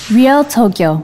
Real Tokyo.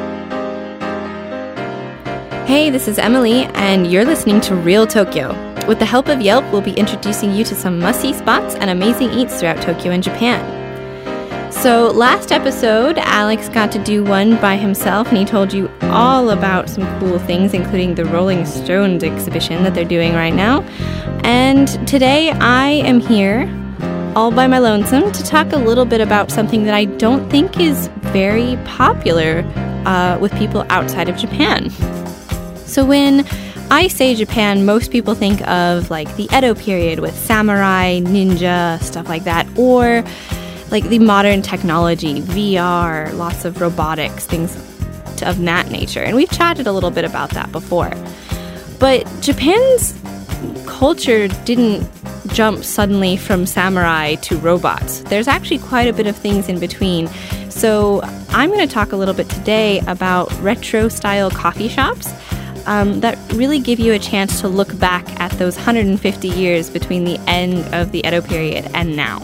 Hey, this is Emily, and you're listening to Real Tokyo. With the help of Yelp, we'll be introducing you to some must-see spots and amazing eats throughout Tokyo and Japan. So last episode, Alex got to do one by himself, and he told you all about some cool things, including the Rolling Stones exhibition that they're doing right now. And today, I am here, all by my lonesome, to talk a little bit about something that I don't think is very popular with people outside of Japan. So when I say Japan, most people think of like the Edo period with samurai, ninja, stuff like that, or like the modern technology, VR, lots of robotics, things of that nature. And we've chatted a little bit about that before. But Japan's culture didn't jump suddenly from samurai to robots. There's actually quite a bit of things in between. So I'm going to talk a little bit today about retro-style coffee shops that really give you a chance to look back at those 150 years between the end of the Edo period and now.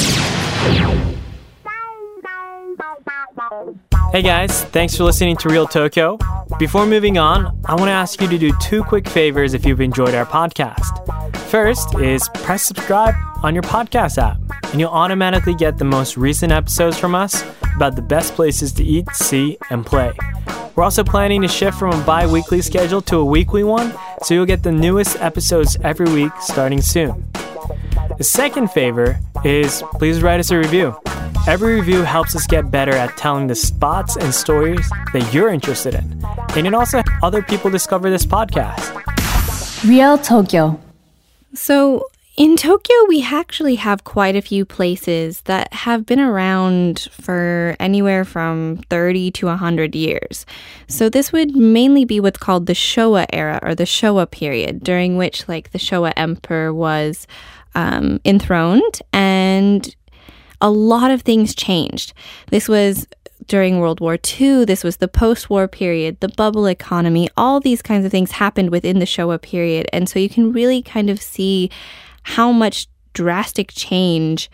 Hey guys, thanks for listening to Real Tokyo. Before moving on, I want to ask you to do two quick favors if you've enjoyed our podcast. First is press subscribe on your podcast app, and you'll automatically get the most recent episodes from us about the best places to eat, see, and play. We're also planning to shift from a bi-weekly schedule to a weekly one, so you'll get the newest episodes every week starting soon. The second favor is please write us a review. Every review helps us get better at telling the spots and stories that you're interested in. And it also helps other people discover this podcast. Real Tokyo. So in Tokyo, we actually have quite a few places that have been around for anywhere from 30 to 100 years. So this would mainly be what's called the Showa era or the Showa period, during which like the Showa emperor was enthroned and a lot of things changed. This was during World War II. This was the post-war period, the bubble economy. All these kinds of things happened within the Showa period. And so you can really kind of see how much drastic change.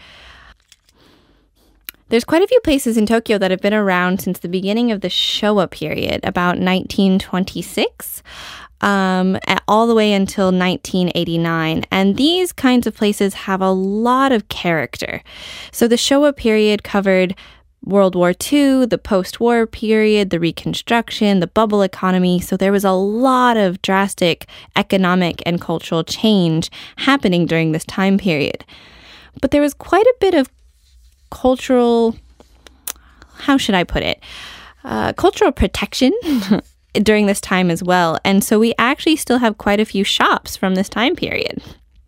There's quite a few places in Tokyo that have been around since the beginning of the Showa period, about 1926. All the way until 1989. And these kinds of places have a lot of character. So the Showa period covered World War II, the post-war period, the Reconstruction, the bubble economy. So there was a lot of drastic economic and cultural change happening during this time period. But there was quite a bit of cultural, how should I put it? Cultural protection during this time as well. And so we actually still have quite a few shops from this time period.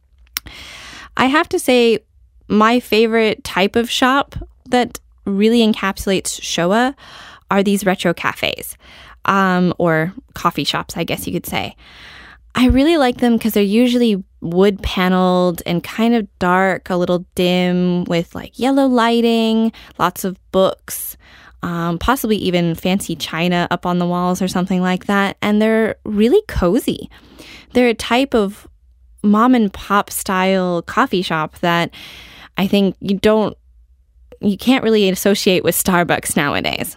I have to say, my favorite type of shop that really encapsulates Showa are these retro cafes, or coffee shops, I guess you could say. I really like them because they're usually wood paneled and kind of dark, a little dim, with like yellow lighting, lots of books, possibly even fancy china up on the walls or something like that. And they're really cozy. They're a type of mom and pop style coffee shop that I think you can't really associate with Starbucks nowadays.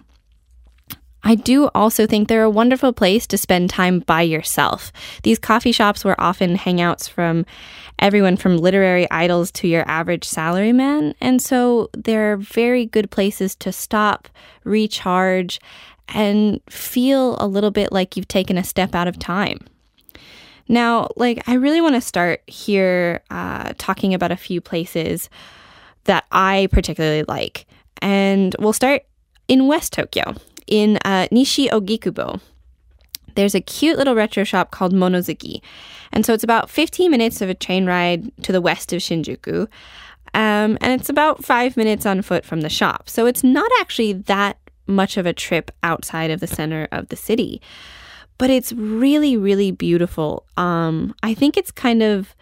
I do also think they're a wonderful place to spend time by yourself. These coffee shops were often hangouts from everyone from literary idols to your average salaryman, and so they're very good places to stop, recharge, and feel a little bit like you've taken a step out of time. Now, I really want to start here talking about a few places that I particularly like, and we'll start in West Tokyo. In Nishi Ogikubo, there's a cute little retro shop called Monozuki. And so it's about 15 minutes of a train ride to the west of Shinjuku. And it's about 5 minutes on foot from the shop. So it's not actually that much of a trip outside of the center of the city. But it's really, really beautiful. I think it's kind of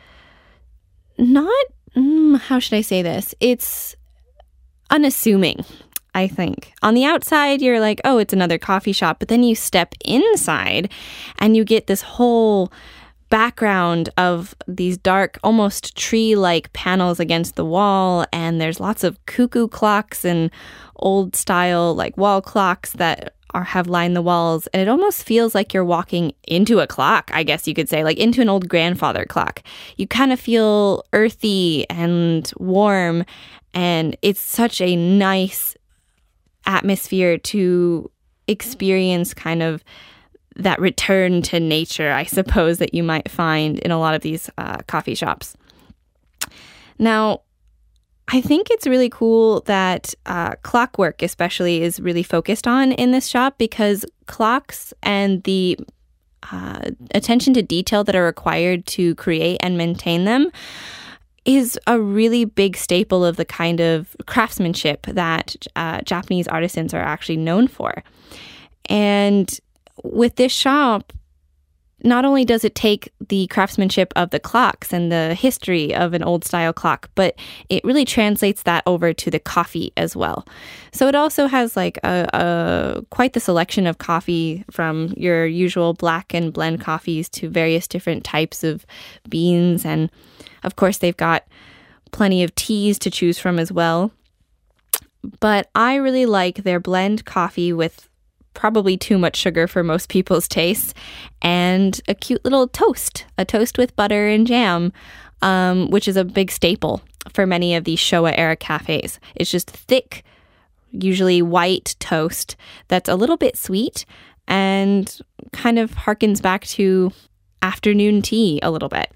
not, how should I say this? It's unassuming. I think. On the outside, you're like, oh, it's another coffee shop. But then you step inside and you get this whole background of these dark, almost tree-like panels against the wall, and there's lots of cuckoo clocks and old-style like wall clocks that have lined the walls, and it almost feels like you're walking into a clock, I guess you could say, like into an old grandfather clock. You kind of feel earthy and warm, and it's such a nice atmosphere to experience kind of that return to nature, I suppose, that you might find in a lot of these coffee shops. Now, I think it's really cool that clockwork especially is really focused on in this shop, because clocks and the attention to detail that are required to create and maintain them is a really big staple of the kind of craftsmanship that Japanese artisans are actually known for. And with this shop, not only does it take the craftsmanship of the clocks and the history of an old style clock, but it really translates that over to the coffee as well. So it also has like quite the selection of coffee, from your usual black and blend coffees to various different types of beans. And of course, they've got plenty of teas to choose from as well. But I really like their blend coffee with probably too much sugar for most people's tastes, and a cute little toast, a toast with butter and jam, which is a big staple for many of these Showa-era cafes. It's just thick, usually white toast that's a little bit sweet and kind of harkens back to afternoon tea a little bit.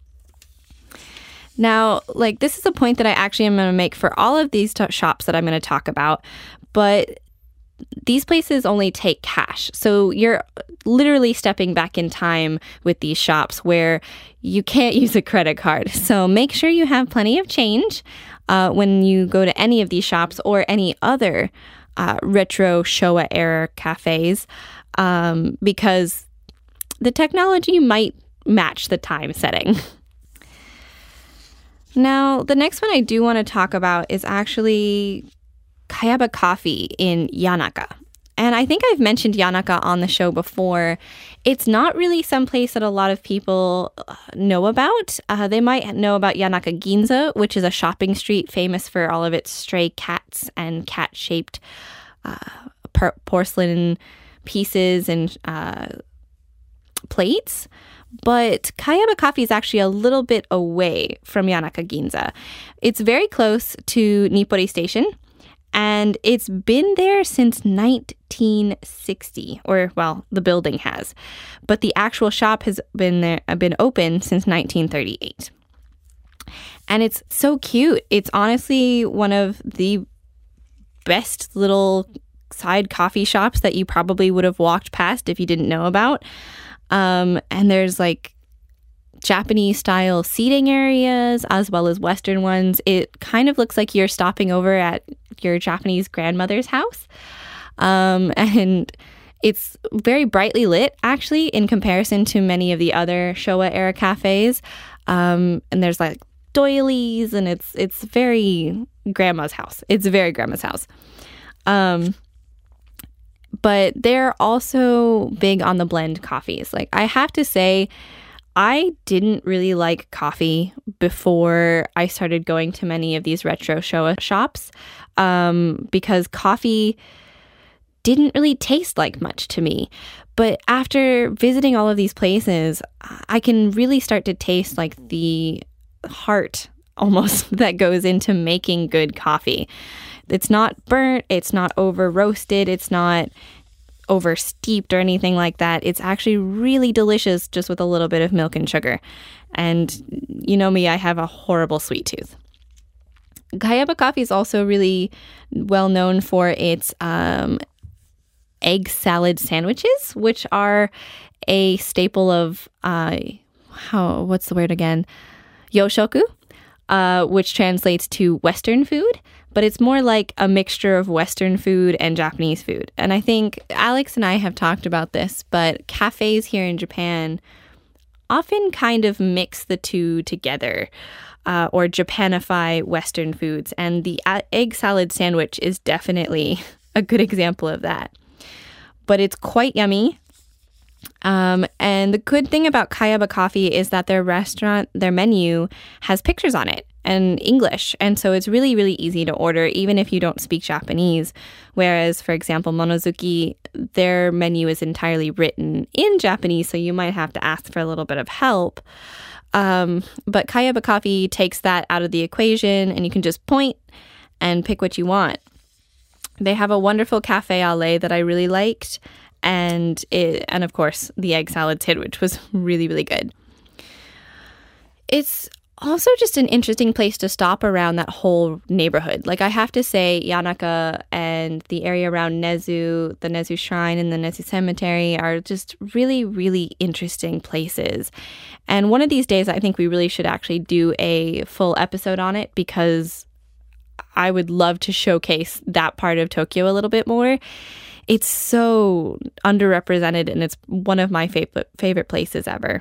Now, like, this is a point that I actually am going to make for all of these shops that I'm going to talk about, but these places only take cash. So you're literally stepping back in time with these shops where you can't use a credit card. So make sure you have plenty of change when you go to any of these shops or any other retro Showa-era cafes, because the technology might match the time setting. Now, the next one I do want to talk about is actually Kayaba Coffee in Yanaka. And I think I've mentioned Yanaka on the show before. It's not really someplace that a lot of people know about. They might know about Yanaka Ginza, which is a shopping street famous for all of its stray cats and cat-shaped porcelain pieces and plates. But Kayaba Coffee is actually a little bit away from Yanaka Ginza. It's very close to Nippori Station, and it's been there since 1960, or, well, the building has. But the actual shop has been open since 1938. And it's so cute. It's honestly one of the best little side coffee shops that you probably would have walked past if you didn't know about. And there's like Japanese style seating areas as well as Western ones. It kind of looks like you're stopping over at your Japanese grandmother's house. And it's very brightly lit, actually, in comparison to many of the other Showa-era cafes. And there's like doilies, and it's very grandma's house. It's very grandma's house. But they're also big on the blend coffees. Like, I have to say, I didn't really like coffee before I started going to many of these retro Showa shops, because coffee didn't really taste like much to me. But after visiting all of these places, I can really start to taste like the heart almost that goes into making good coffee. It's not burnt, it's not over roasted, it's not over steeped or anything like that. It's actually really delicious just with a little bit of milk and sugar. And you know me, I have a horrible sweet tooth. Kayaba Coffee is also really well known for its egg salad sandwiches, which are a staple of what's the word again? Yoshoku, which translates to Western food. But it's more like a mixture of Western food and Japanese food. And I think Alex and I have talked about this, but cafes here in Japan often kind of mix the two together, or Japanify Western foods. And the egg salad sandwich is definitely a good example of that. But it's quite yummy. And the good thing about Kayaba Coffee is that their menu has pictures on it and English. And so it's really, really easy to order, even if you don't speak Japanese. Whereas, for example, Monozuki, their menu is entirely written in Japanese, so you might have to ask for a little bit of help. But Kayaba Coffee takes that out of the equation, and you can just point and pick what you want. They have a wonderful cafe au lait that I really liked. And of course, the egg salad tin, which was really, really good. It's also just an interesting place to stop around that whole neighborhood. Like, I have to say, Yanaka and the area around Nezu, the Nezu Shrine and the Nezu Cemetery are just really, really interesting places. And one of these days, I think we really should actually do a full episode on it, because I would love to showcase that part of Tokyo a little bit more. It's so underrepresented, and it's one of my favorite places ever.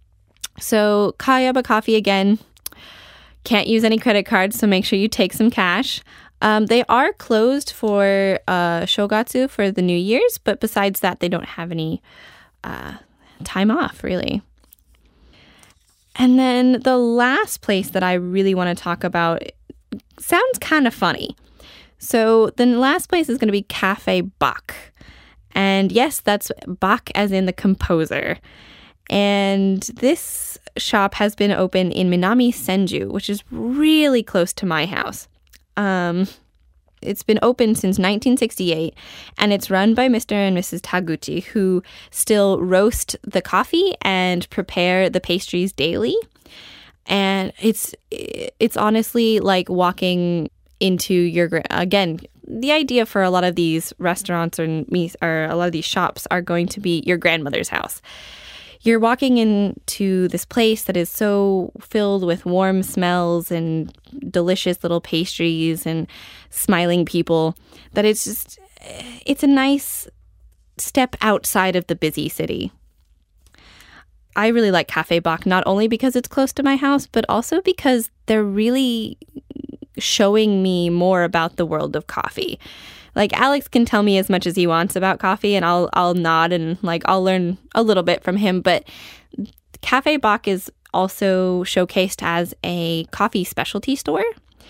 So Kayaba Coffee, again, can't use any credit cards, so make sure you take some cash. They are closed for Shogatsu, for the New Year's, but besides that, they don't have any time off, really. And then the last place that I really want to talk about sounds kind of funny. So the last place is going to be Cafe Bach. And yes, that's Bach as in the composer. And this shop has been open in Minami Senju, which is really close to my house. It's been open since 1968, and it's run by Mr. and Mrs. Taguchi, who still roast the coffee and prepare the pastries daily. And it's honestly like walking into your, again, the idea for a lot of these restaurants or a lot of these shops are going to be your grandmother's house. You're walking into this place that is so filled with warm smells and delicious little pastries and smiling people that it's a nice step outside of the busy city. I really like Cafe Bach, not only because it's close to my house, but also because they're really showing me more about the world of coffee. Like, Alex can tell me as much as he wants about coffee, and I'll nod and I'll learn a little bit from him. But Cafe Bach is also showcased as a coffee specialty store.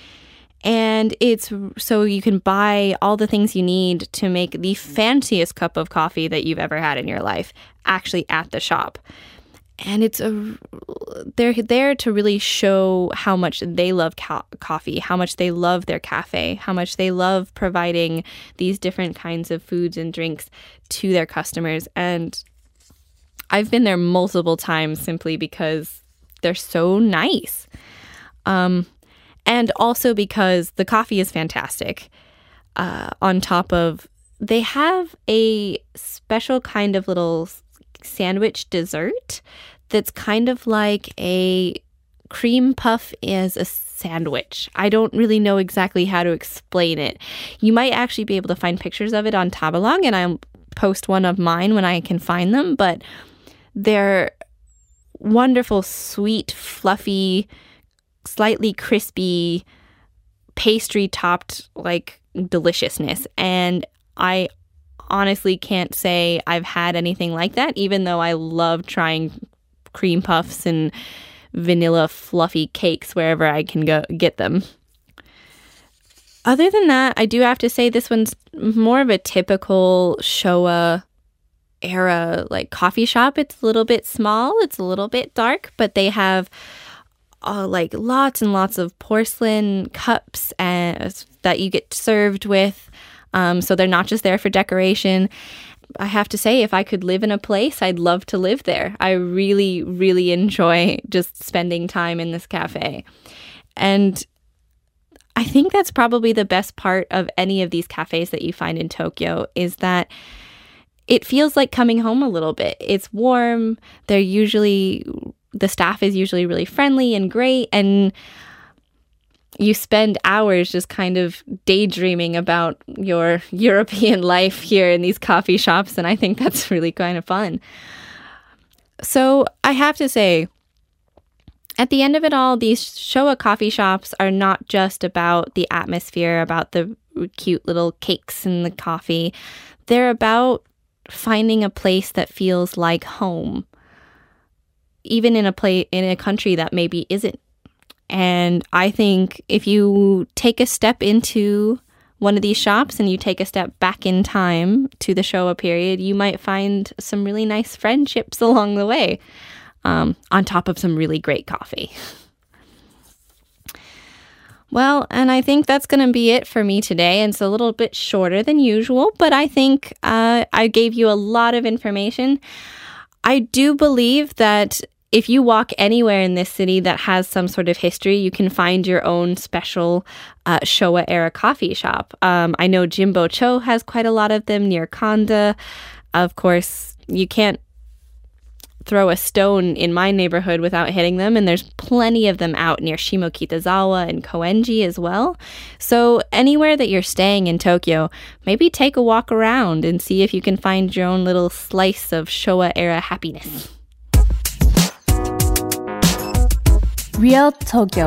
And it's so you can buy all the things you need to make the fanciest cup of coffee that you've ever had in your life actually at the shop. And they're there to really show how much they love coffee, how much they love their cafe, how much they love providing these different kinds of foods and drinks to their customers. And I've been there multiple times simply because they're so nice. And also because the coffee is fantastic. On top of, they have a special kind of little sandwich dessert that's kind of like a cream puff as a sandwich. I don't really know exactly how to explain it. You might actually be able to find pictures of it on Tabelog, and I'll post one of mine when I can find them, but they're wonderful, sweet, fluffy, slightly crispy, pastry-topped, deliciousness. And I honestly can't say I've had anything like that, even though I love trying cream puffs and vanilla fluffy cakes wherever I can go get them. Other than that, I do have to say this one's more of a typical Showa era coffee shop. It's a little bit small, it's a little bit dark, but they have lots and lots of porcelain cups that you get served with. So they're not just there for decoration. I have to say, if I could live in a place, I'd love to live there. I really, really enjoy just spending time in this cafe. And I think that's probably the best part of any of these cafes that you find in Tokyo, is that it feels like coming home a little bit. It's warm. The staff is usually really friendly and great. And you spend hours just kind of daydreaming about your European life here in these coffee shops, and I think that's really kind of fun. So I have to say, at the end of it all, these Showa coffee shops are not just about the atmosphere, about the cute little cakes and the coffee. They're about finding a place that feels like home, even in a country that maybe isn't. And I think if you take a step into one of these shops and you take a step back in time to the Showa period, you might find some really nice friendships along the way, on top of some really great coffee. Well, and I think that's going to be it for me today. And it's a little bit shorter than usual, but I think I gave you a lot of information. I do believe that if you walk anywhere in this city that has some sort of history, you can find your own special Showa-era coffee shop. I know Jimbo-cho has quite a lot of them near Kanda. Of course, you can't throw a stone in my neighborhood without hitting them, and there's plenty of them out near Shimokitazawa and Koenji as well. So anywhere that you're staying in Tokyo, maybe take a walk around and see if you can find your own little slice of Showa-era happiness. Real Tokyo.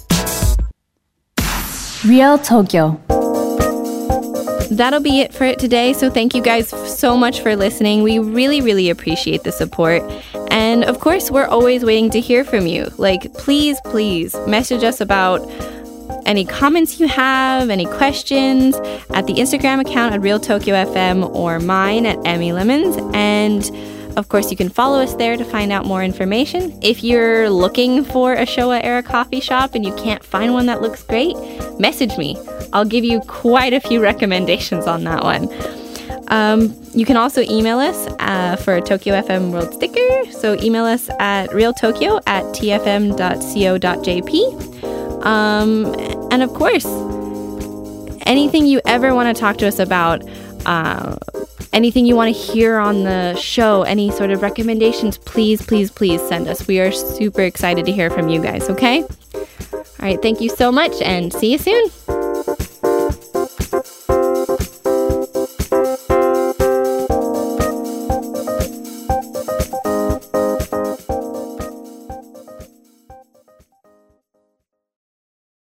Real Tokyo. That'll be it for it today. So thank you guys so much for listening. We really, really appreciate the support. And of course, we're always waiting to hear from you. Please message us about any comments you have, any questions at the Instagram account at Real Tokyo FM or mine at Emmy Lemons. And of course, you can follow us there to find out more information. If you're looking for a Showa-era coffee shop and you can't find one that looks great, message me. I'll give you quite a few recommendations on that one. You can also email us for a Tokyo FM World sticker. So email us at realtokyo@tfm.co.jp. And of course, anything you ever want to talk to us about, anything you want to hear on the show, any sort of recommendations, please send us. We are super excited to hear from you guys, okay? All right, thank you so much and see you soon.